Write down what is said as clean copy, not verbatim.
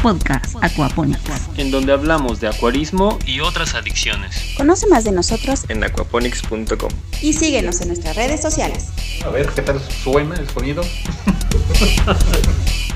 podcast Aquaponics, en donde hablamos de acuarismo y otras adicciones. Conoce más de nosotros en aquaponics.com y síguenos en nuestras redes sociales. A ver, ¿qué tal suena el sonido?